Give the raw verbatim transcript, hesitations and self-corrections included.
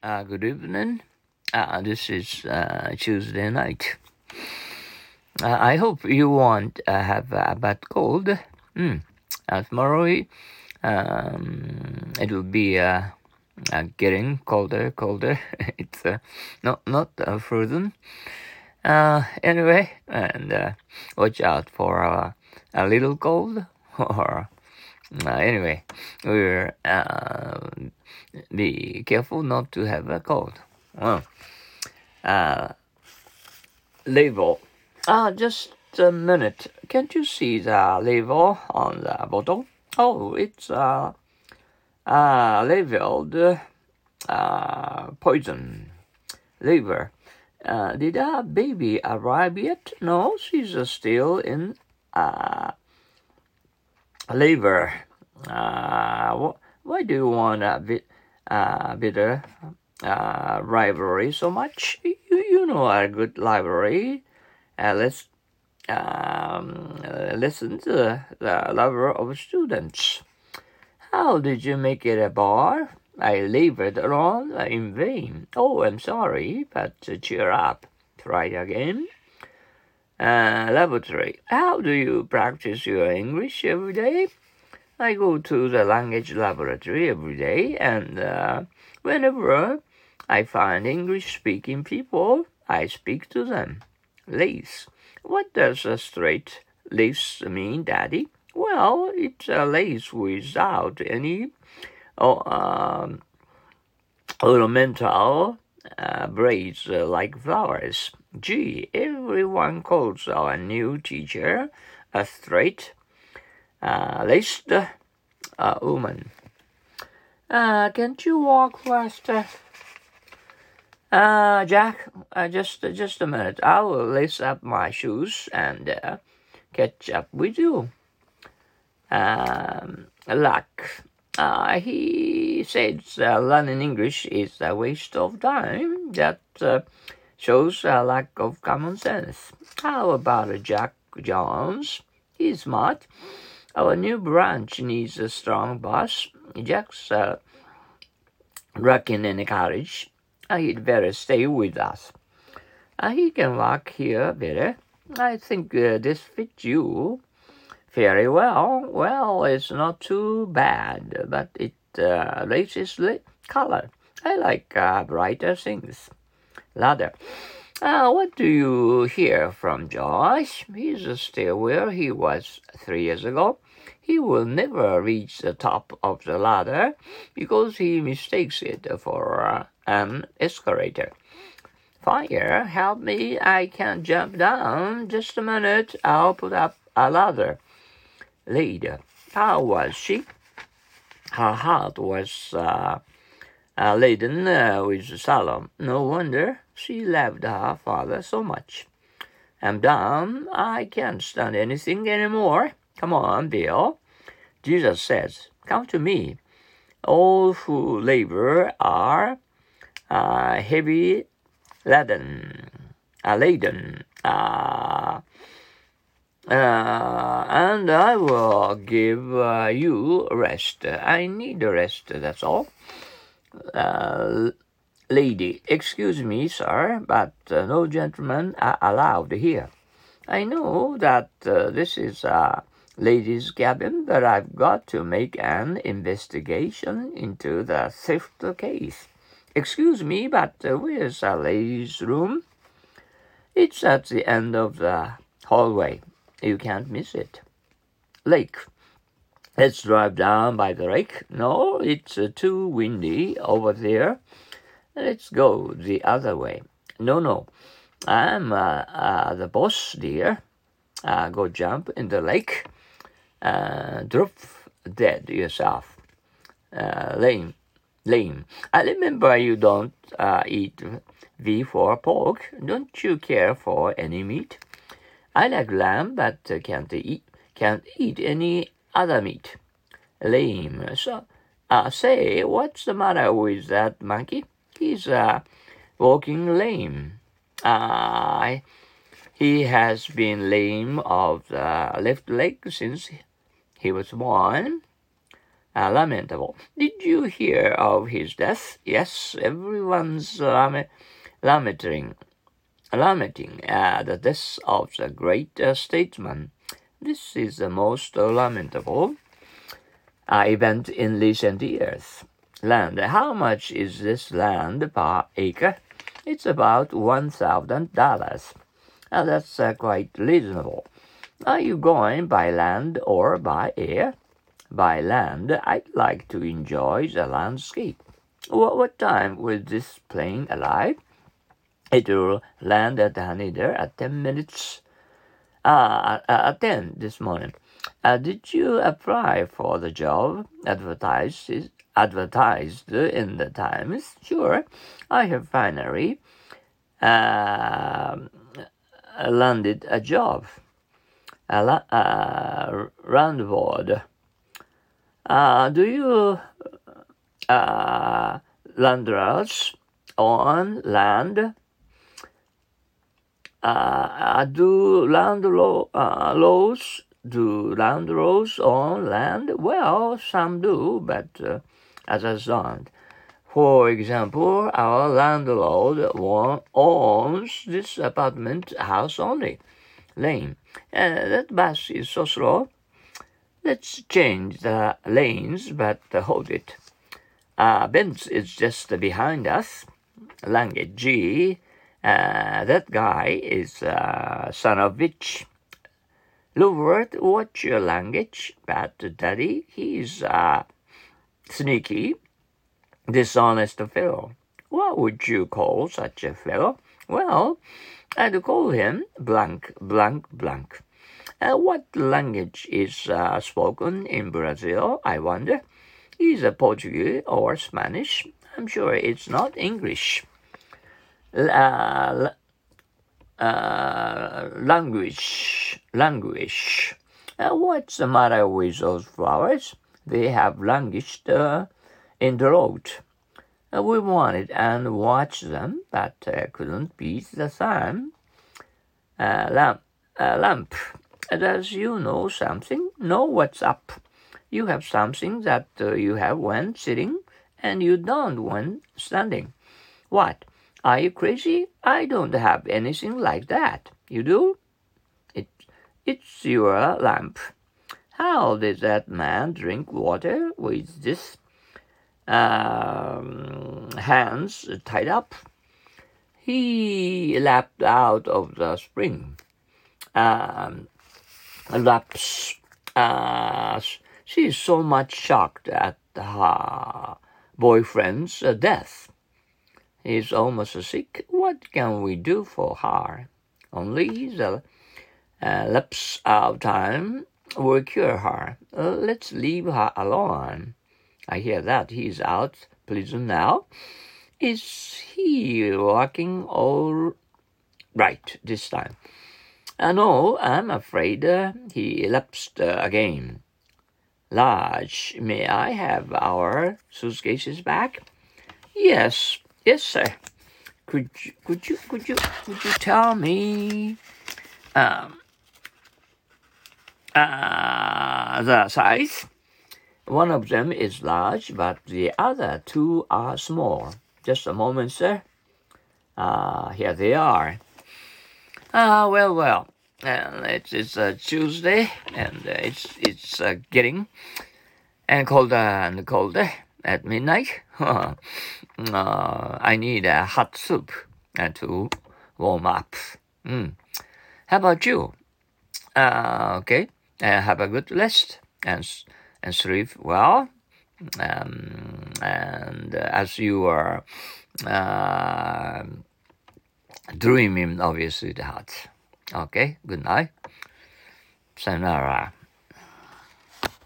Uh, good evening. Uh, this is uh, Tuesday night. Uh, I hope you won't uh, have a bad cold. Mm. Uh, tomorrow um, it will be uh, uh, getting colder, colder. it's uh, not not uh, frozen. Uh, anyway, and uh, watch out for uh, a little cold. Or uh, anyway, we're uh, be careful not to have a cold. Well. Uh, label. Ah, just a minute. Can't you see the label on the bottle? Oh, it's uh, uh labeled uh, poison. Liver. Uh, did our baby arrive yet? No, she's uh, still in uh, labor. Uh, wh- why do you want a bit uh, bitter uh, rivalry so much? You, you know a good library. Uh, let's um, uh, listen to the lover of students. How did you make it a bar? I labored on in vain. Oh, I'm sorry, but uh, cheer up. Try again. Uh, laboratory. How do you practice your English every day? I go to the language laboratory every day, and uh, whenever I find English-speaking people, I speak to them. Lace. What does a straight lace mean, Daddy? Well, it's a lace without any oh, um, ornamental uh, braids uh, like flowers. Gee, everyone calls our new teacher a straight uh, laced uh, woman. Uh, can't you walk faster? Uh, Jack, uh, just just a minute. I will lace up my shoes and uh, catch up with you. Um, luck. Uh, he says uh, learning English is a waste of time. That uh, shows a lack of common sense. How about Jack Jones? He's smart. Our new branch needs a strong boss. Jack's uh, rocking in a carriage. Uh, he'd better stay with us. Uh, he can walk here better. I think uh, this fits you very well. Well, it's not too bad, but it uh, raises the color. I like uh, brighter things. Ladder. Uh, what do you hear from Josh? He's still where he was three years ago. He will never reach the top of the ladder because he mistakes it for uh, an escalator. Fire, help me, I can't jump down. Just a minute, I'll put up a ladder. Later, how was she? Her heart was uh, uh, laden uh, with sorrow. No wonder she loved her father so much. I'm done. I can't stand anything anymore. Come on, Bill. Jesus says, come to me. All who labor are uh, heavy laden, uh, laden, uh, uh, and I will give uh, you rest. I need rest, that's all. Uh, lady, excuse me, sir, but uh, no gentlemen are allowed here. I know that uh, this is a ladies' cabin, but I've got to make an investigation into the theft case. Excuse me, but uh, where's a ladies' room? It's at the end of the hallway. You can't miss it. Lake. Let's drive down by the lake. No, it's uh, too windy over there. Let's go the other way. No, no. I'm uh, uh, the boss, dear. Uh, go jump in the lake. Uh, drop dead yourself. Uh, lame. Lame. I remember you don't uh, eat beef or pork. Don't you care for any meat? I like lamb, but uh, can't eat can't eat any other meat. Lame. So, uh, say, what's the matter with that monkey? He's uh, walking lame. Uh, he has been lame of the left leg since he was born. uh, lamentable. Did you hear of his death? Yes, everyone's lament- lamenting, lamenting uh, the death of the great uh, statesman. This is the most uh, lamentable uh, event in recent years. Land. How much is this land per acre? It's about one thousand dollars. Uh, that's uh, quite reasonable. Are you going by land or by air? By land. I'd like to enjoy the landscape. What, what time will this plane arrive? It will land at Haneda at ten minutes. Ah, uh, at ten this morning. Uh, did you apply for the job advertised advertised in the Times? Sure. I have finally uh, landed a job. A la- uh, landlord. Uh, do you uh, landlords own land? Uh, do landlords uh, laws, do landlords own land? Well, some do, but uh, others don't. For example, our landlord owns this apartment house only. Lane. Uh, that bus is so slow. Let's change the lanes, but uh, hold it. Uh, Benz is just behind us. Language G. Uh, that guy is uh, son of bitch. Louvert, what's your language? But daddy, he's uh, sneaky, dishonest fellow. What would you call such a fellow? Well, I'd call him blank, blank, blank. Uh, what language is uh, spoken in Brazil, I wonder? Is it Portuguese or Spanish? I'm sure it's not English. Uh, uh, language, language. Uh, what's the matter with those flowers? They have languished uh, in the road. Uh, we wanted and watched them, but uh, couldn't beat the sun. Uh, lamp, uh, lamp. Does you know something? Know what's up? You have something that uh, you have when sitting, and you don't when standing. What? Are you crazy? I don't have anything like that. You do? It, it's your lamp. How did that man drink water with this um, hands tied up? He lapped out of the spring. Um, laps. Uh, she is so much shocked at her boyfriend's death. He is almost sick. What can we do for her? Only the uh, lapse of time will cure her. Uh, let's leave her alone. I hear that he's out prison now. Is he walking all right this time? Uh, no, I'm afraid uh, he lapsed uh, again. Large, may I have our suitcases back? Yes, yes, sir. Could you, could you, could you, could you tell me, um, uh, the size? One of them is large, but the other two are small. Just a moment, sir. Ah, uh, here they are. Ah, uh, well, well. Uh, it's it's uh, Tuesday, and uh, it's it's uh, getting and colder and colder at midnight. uh, I need a hot soup uh, to warm up. Mm. How about you? Uh, okay, uh, have a good rest and and sleep well. Um, and uh, as you are uh, dreaming, obviously, the heart. Okay, good night. Sayonara.